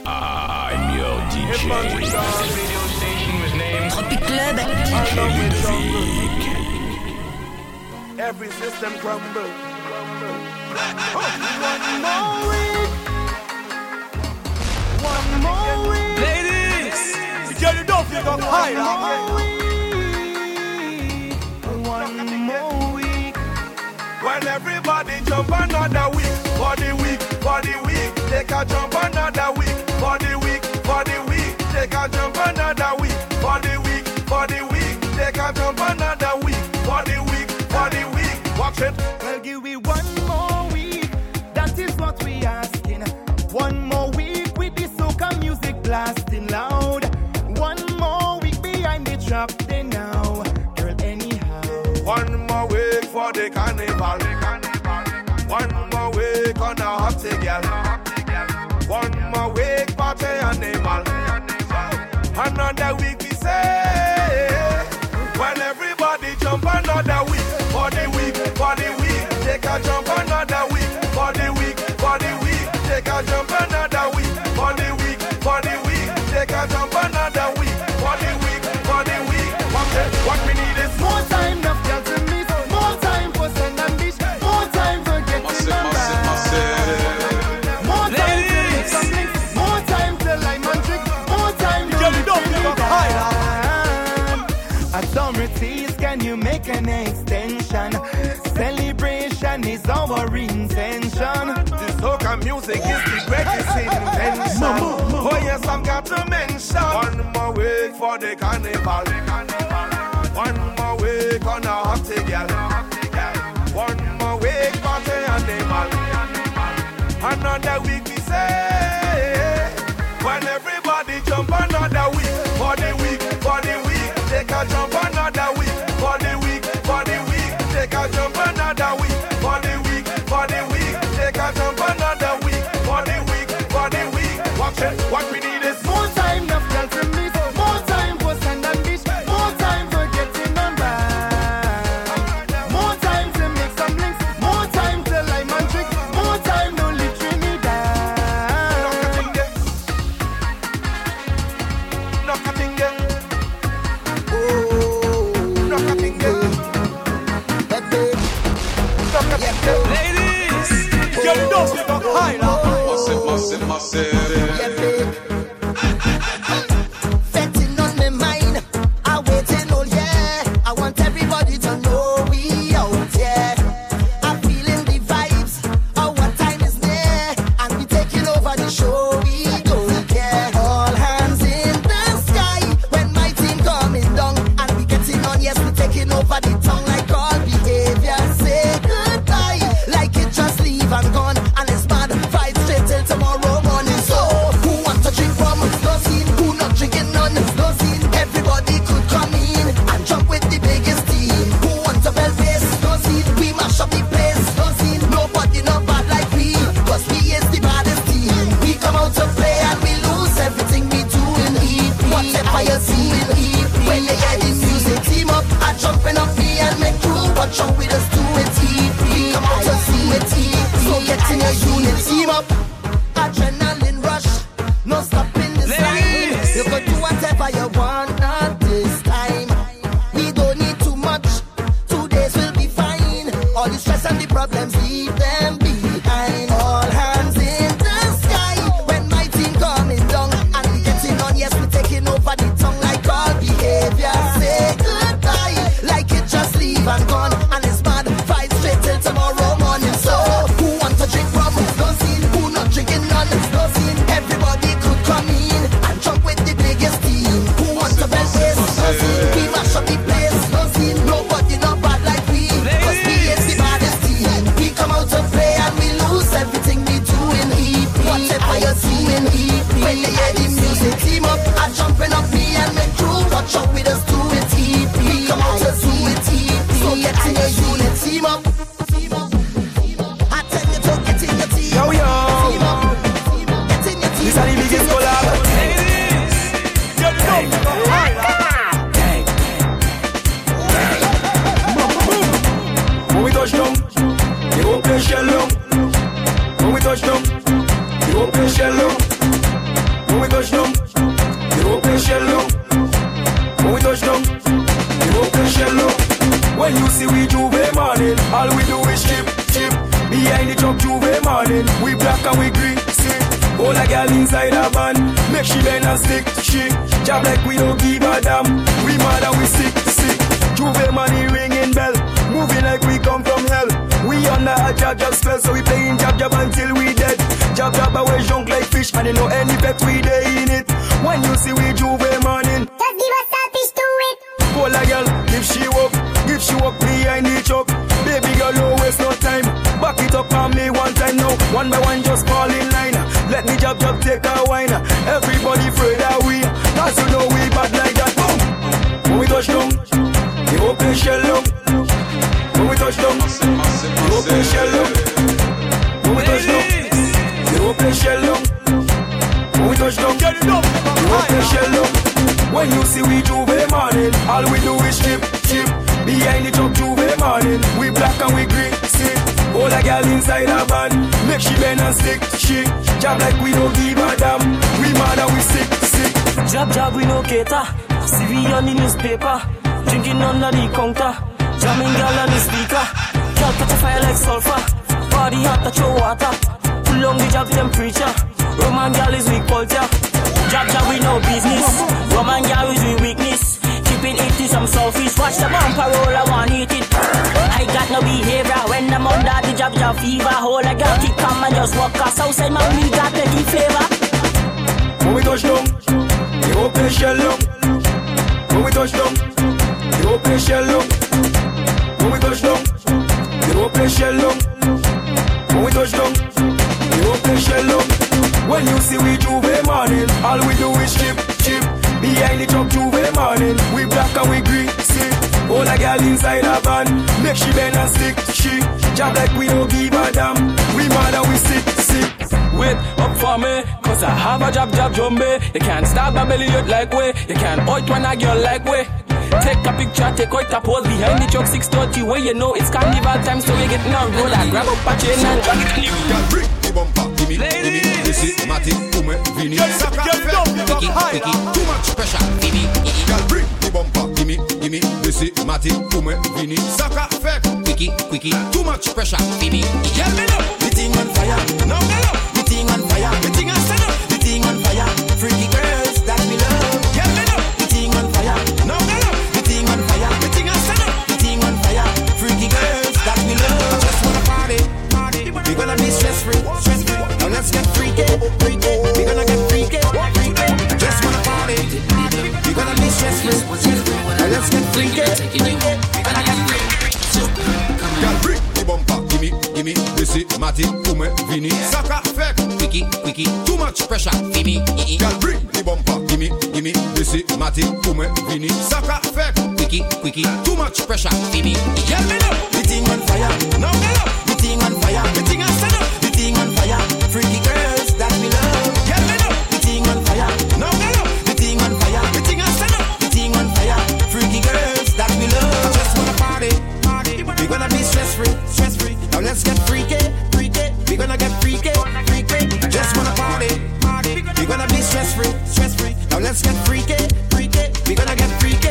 I'm your DJ. Radio station was named Tropic Club. DJ Ludovic. Every system crumble. One more week. Ladies! Girl, you don't feel up high. One more week. When everybody jump another week. For the week, take a jump another week. For the week, take a jump another week. For the week, take a jump another week. For the week, watch it. Well, give me one more week, that is what we asking. One more week with the soca music blasting loud. One more week behind the trap they now. Girl, anyhow. One more week for the carnival. One more week on a hot girl. One more week party animal. Another week we say. When everybody jump another week. For the week, take a jump another week. For the week, take a jump another week. For the week, take a jump another week. For the week, what we need is More time, enough girl to meet. More time for send and beach. More time for getting them back. More time to make some links. More time to line and trick. More time to authorities, can you make an extension? Celebration is our intention. the soca music is the greatest invention. Oh yes, I've got to mention. One more week for the carnival. One more week on a hot girl. One more week party animal. Another week we say. When everybody jump another week. For the week, take a jump another week. For the week, take a jump another week. For the week, take a jump another week. For the week, watch it. What we need is More time, enough girl to meet. More time for sand and beach. More time for getting them back. More time to make some links. More time to line and trick. More time to live Trinidad. Ladies! Girl, you don't feel up high now. Setting on my mind, I waiting all year. I want everybody to know we out here. I'm feeling the vibes of what time is near, and we taking over the show. We don't care. All hands in the sky when my team coming down, and we getting on. Yes, we taking over the town like all behavior. Say goodbye, like it just leave and gone, and it's bad. Fight straight till tomorrow morning. So who want to drink from? No scene. Who not drinking none? No scene. Everybody could come in and jump with the biggest team. Who want to bell bass? No scene. We mash up the place. No scene. Nobody not bad like we, 'cause we is the baddest team. We come out to play and we lose everything we do in EP. Whatever you see in EP. When you hear the music, team up. I jumping up me and make crew. Watch out with us do it EP. We come out to see it EP. So get in your unit, team up. Adrenaline rush, no stopping the sign. You could do whatever you want at this time. We don't need too much. 2 days will be fine. All the stress and the problems, leave them behind. All hands in the sky when my team coming down, and we getting on. Yes, we taking over the tongue like all behavior. Say goodbye, like it just leave and gone, and it's bad. Fight straight till tomorrow morning. So who want to drink from? No scene. Who not drinking none? No scene. Everybody could come in and jump with the biggest team. Who want to best this? No scene. We mash up the place. No scene. Nobody not bad like we, 'cause we is the baddest team. We come out to play and we lose everything we do in EP. Whatever you see in EP. When you hear the music, team up. I jumping up me and make crew. Watch out with us do it EP. We come out to do it EP. So get in your unit, team up. I tell you to get in your team. Yo. Team up. Get in your team. This is the biggest collab. Ladies! Girl, you don't feel up high now. When we touch down, they open shell down. When we touch down, they open shell down. touch down, the open shell down. When we touch down, the open shell down. When you see we Juve morning, all we do is chip. Behind the truck Juve morning, we black and we green, see. All a girl inside a van, make she bend and stick, she. Job like we don't give a damn, we mad and we sick. Juve money ringing bell, moving like we come from hell. We under a jab spell, so we playing jab until we dead. Jab away junk like fish, and you know any bet we day in it. When you see we Juve morning, just give us a fish to it. Pull a girl, give she walk behind the truck. Baby girl, don't waste no time. Back it up on me one time now. One by one, just fall in line. Let me jab take a wine. Everybody afraid that we, cause you know we bad like that. Boom. When we touch down, the open shell down. When we touch down, the open shell down. When we touch down, the open shell down. When we touch down, the open shell down. When you see we Juve morning, all we do is chip. Behind the truck Juve morning, we black and we green, see. All a girl inside a van, make she bend and stick, she. Job like we don't give a damn, we mad and we sick. Job we no cater, see we on the newspaper, drinking under the counter, jamming girl on the speaker. Girl catch a fire like sulfur, body hot to throw water, pull on the job temperature. Roman girl is weak culture, job we no business, Roman girl is we weakness. Keeping it to some selfish, watch the bumper roll, I want hit it. I got no behavior when I'm under the job fever. Hold a girl, keep calm and just walk us outside, man, we got plenty flavor. When we touch down, the open shell down. When we touch down, the open shell down. When we touch down, the open shell down. When we touch down, the open shell down. When you see we Juve morning, all we do is chip. Behind the truck Juve morning, we black and we green, see. All a girl inside a van, make she bend and stick, she. Job like we don't give a damn, we mad and we sick. Wait up for me, cause I have a job zombie. You can't stop my belly out like way, you can't out when a girl like way. Take a picture, take out a pose behind the truck 630 where you know it's carnival time, so we getting on road. I grab up a chain and drag it in the bring the bumper, gimme, this is Matty, Ume, Vini, Saka, Picky, too much pressure, Vini. Girl, bring the bumper, gimme, this is Matty, Ume, Vini, Saka, Picky, too much pressure, Vini. Girl, me know, the thing on fire, no, the thing on fire, the thing on stand up, the thing on fire, freaky girls that we love. Girl, me know, the thing on fire, no, the thing on fire, the thing on stand up, the thing on fire, freaky girls that we love. I just wanna party, we gonna be stress free. Now let's get freaky, we gonna get freaky. Just wanna party, we gonna be stress free. Now let's get freaky, we gonna get freaky. Girl, bring the bumper, gimme, this is Matty, Ume, Vini, Saka, Picky, too much pressure, Vini. Girl, bring the bumper, gimme, this is Matty, Ume, Vini, Saka, Picky, too much pressure, Vini. Girl, me know, the thing on fire, no, the thing on fire, the thing on stand up, the thing on fire, freaky girls that we love. Girl, me know, the thing on fire, no, the thing on fire, the thing on stand up, the thing on fire, freaky girls that we love. I just wanna party, we gonna be stress free. Now let's get freaky, we gonna get freaky. Just wanna party, we gonna be stress free. Now let's get freaky, we gonna get freaky.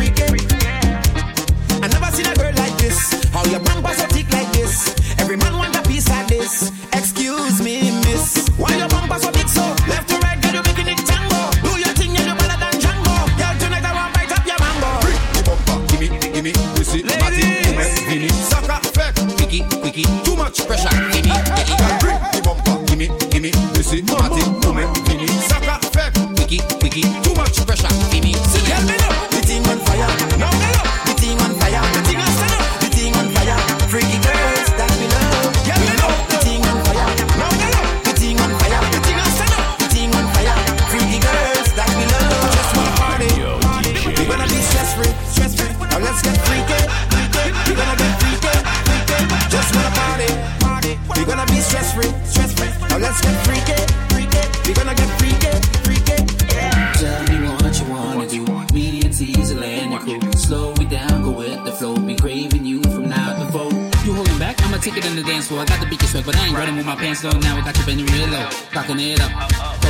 I never seen a girl like this. How your bumpers are thick like this. Every man want a piece like this. Excuse me, miss. Why your bumpers so big so? Left to right, girl, you making it tango. Do your thing, yeah, you better than Django. Girl, tonight I want bite up your mango. Bring the bumper, gimme, this is Matty, Vini, Saka, Picky, too much pressure, gimme. Girl, bring the bumper, gimme, this is Matty, Vini, Saka, Picky, too much pressure, gimme. Girl, me know, the thing on fire, no, the thing on fire, the thing on stand up, the thing on fire, freaky girls that we love. Girl, me know, the thing on fire, no, the thing on fire, the thing on stand up, the thing on fire, freaky girls that we love. Just wanna party, we gonna be stress free. Now let's get freaky, we gonna get freaky. Just wanna party, we gonna be stress free. Now let's get freaky, we gonna get freaky. Tell me what you wanna do. Me and Teasel and your crew. Slow it down, go with the flow. Been craving you from now to four. You holding back? I'ma take it on the dance floor. I got the biggest swag, but I ain't running with my pants low. Now I got you bending real low, cocking it up.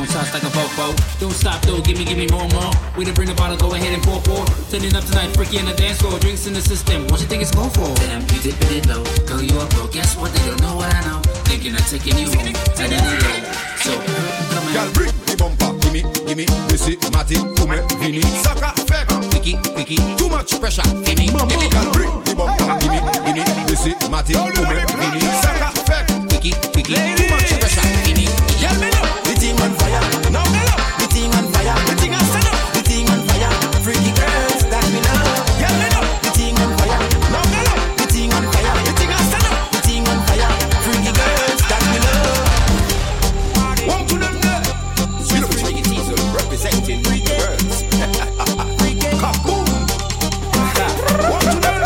throwing shots like a fofo. Don't stop though, give me more. We to bring the bottle, go ahead and pour. Turning up tonight, freaky in the dance floor. Drinks in the system, what you think it's going for? Damn, you dipping it low. Girl, you up, bro. Guess what? They don't know what I know. Thinking of taking you home. And then they go. So, come on. Girl, bring the bumper. Gimme, this is Matty, Kume, Vini, Saka, Fek, Picky, too much pressure. Gimme, girl, bring the bumper. Gimme, this is Matty, Kume, Vini, Saka, Fek, Picky, too much pressure. Gimme, yeah, me know. The team on fire, no, the team on fire, the team on fire, the team on fire, freaky girls that we love. Yeah, me know. The team on fire, no, the team on fire, the team on fire, the team on fire, freaky girls that we love. One to them there. Representing freaky girls. Kaboom. One to them.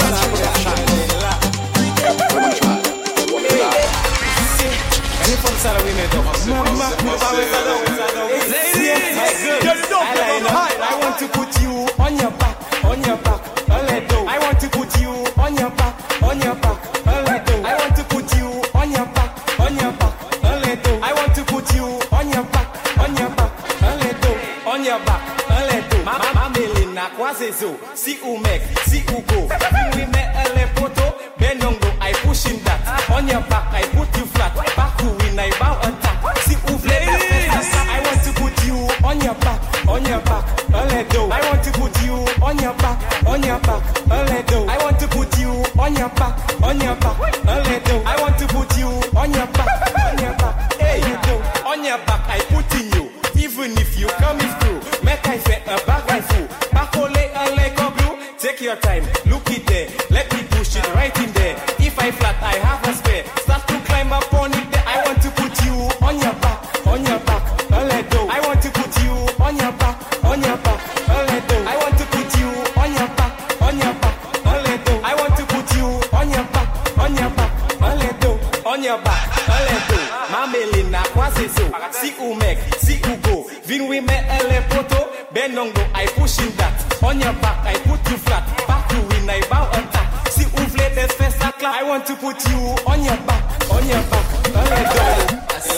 I want to put you on your back, let go. I want to put you on your back, let go. I want to put you on your back, let go. I want to put you on your back, let go. On your back, let go. Mama melina quase so. Si ou mec, si ou go. We met a poto, benongo. I push in that. On your back, I put you flat. Back to win, I bow attack. Si ou I want to put you on your back, let go. I want to put you on your back, let go. I want to put you on your back, let go. I want to put you on your back, hey, on your back, I put in you. Even if you coming through, make I say a bag I fool. Back ole a leg of blue. Take your time, look it there. Let me push it right in there. If I flat, I have a spare. Start to climb up on it there. I want to put you on your back, let go. I want to put you on your back, let go. I want to put you on your back, let go. I want to put you on your back, let go. On your back, let go. Mamelina quase so. Si ou mec, si ou go. Vin we met a poto. Benongo, I push in that. On your back, I put you flat. Back to win, I bow attack. Si ou fled the first clap. I want to put you on your back, let go.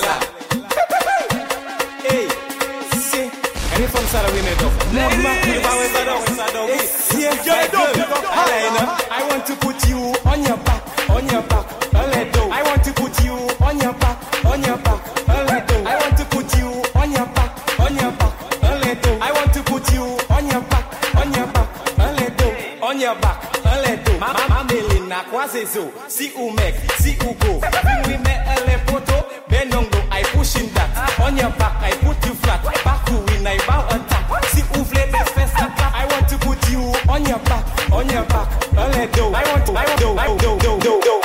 Hey, see, any from Sarah we made up. I want to put you on your back, let go. I want to put you on your back, let go. I want to put you on your back, let go. I want to put you on your back, let go. On your back, let go. Mama melina quase so. Si ou mec, si ou go. We met a poto, benongo, I push in that. On your back, I put you flat. Back to win, I bow attack. Si ou fled the first clap. I want to put you on your back, let go. I want to,